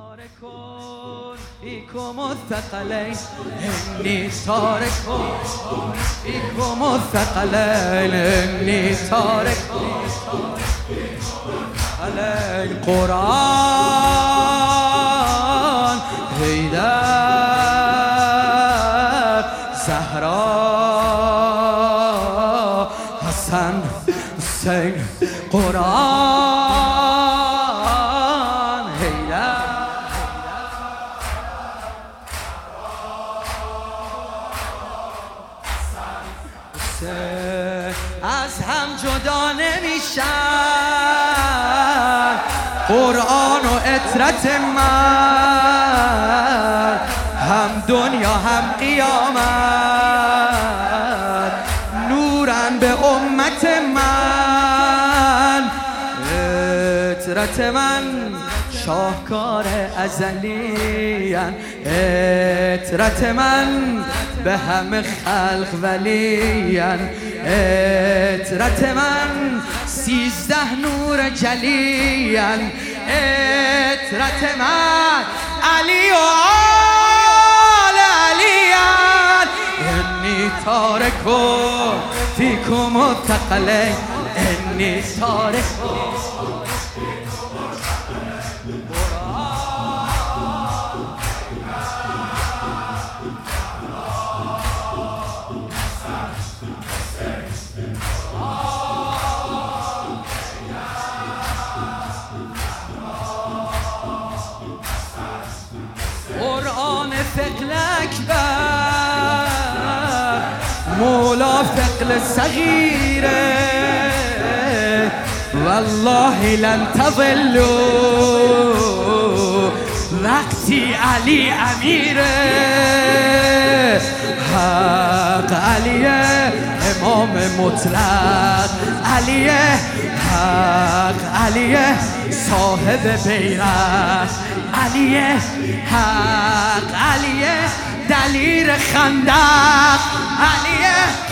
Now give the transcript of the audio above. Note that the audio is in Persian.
تارك فيكم الثقلين إني تارك فيكم الثقلين إني تارك الثقلين قرآن حیدر زهرا حسن حسین قرآن حیدر از هم جدا نمیشن قرآن و عطرت من هم دنیا هم قیامت نورن به امت من عطرت من شاهکار ازلیان عطرت من به همه خلق ولیان عطرت من 13 نور جلیان عطرت من علی و آل علیان انی تارک فیکم الثقلین انی تارک قرآن فقل اکبر مولا فقل صغیره والله لن تضلوا وقتی علی امیره حق علیه امام مطلق علیه حق علیه صاحب بیرق علیه حق علیه دلیر خندق علیه